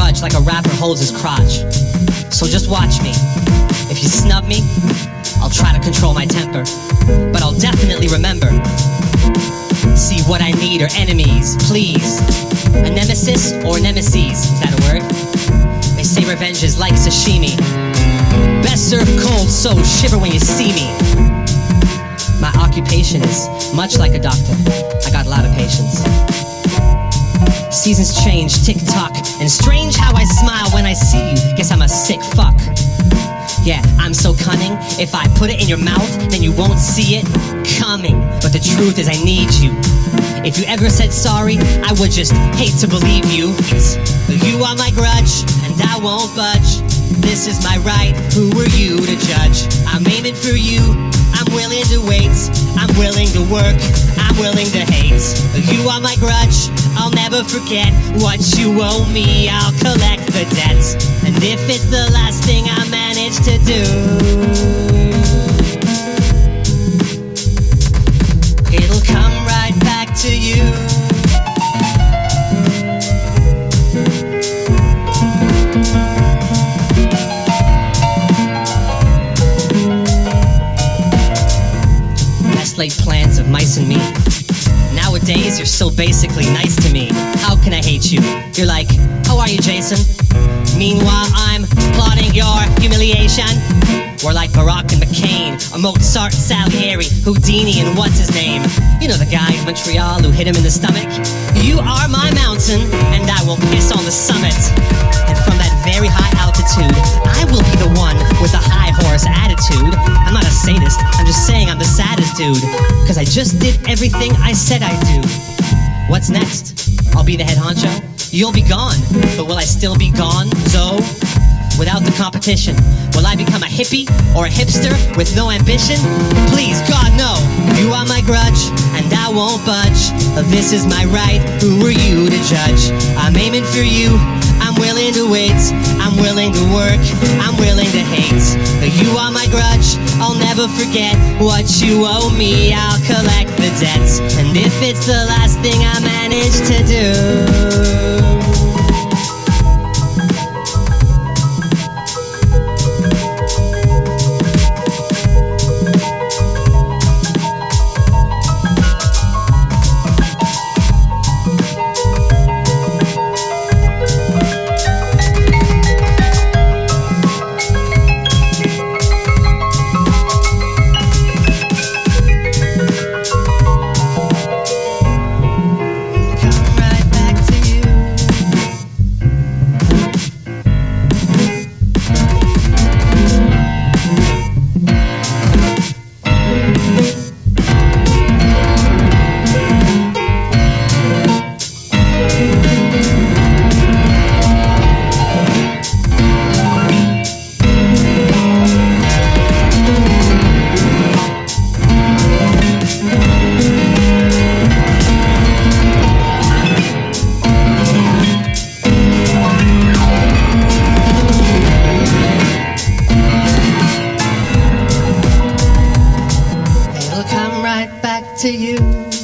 grudge like a rapper holds his crotch. So just watch me. If you snub me, I'll try to control my temper, but I'll definitely remember. See, what I need are enemies, please. A nemesis or nemesis, is that a word? They say revenge is like sashimi. Best served cold, so shiver when you see me. My occupation is much like a doctor. I got a lot of patience. Seasons change, tick-tock, and strange how I smile when I see you. Guess I'm a sick fuck. Yeah, I'm so cunning. If I put it in your mouth, then you won't see it coming. But the truth is I need you. If you ever said sorry, I would just hate to believe you. You are my grudge, and I won't budge. This is my right, who are you to judge? I'm aiming for you, I'm willing to wait. I'm willing to work, I'm willing to hate. You are my grudge, I'll never forget. What you owe me, I'll collect the debt. And if it's the last thing I manage to do, it'll come right back to you. Best laid plans of mice and me. Nowadays, you're so basically nice to me. How can I hate you? You're like, how are you, Jason? Meanwhile, I'm plotting your humiliation. We're like Barack and McCain, or Mozart, Salieri, Houdini, and what's his name? You know the guy in Montreal who hit him in the stomach? You are my mountain, and I will piss on the summit. And from that very high altitude, I will be the one with the high horse attitude. I'm not a sadist, I'm just saying I'm the saddest dude. Cause I just did everything I said I'd do. What's next? I'll be the head honcho? You'll be gone, but will I still be gone, Zoe? Without the competition, will I become a hippie or a hipster with no ambition? Please, God, no. You are my grudge, and I won't budge. This is my right, who are you to judge? I'm aiming for you, I'm willing to wait. I'm willing to work, I'm willing to hate. You are my grudge, I'll never forget. What you owe me, I'll collect the debts. And if it's the last thing I manage to do, to you.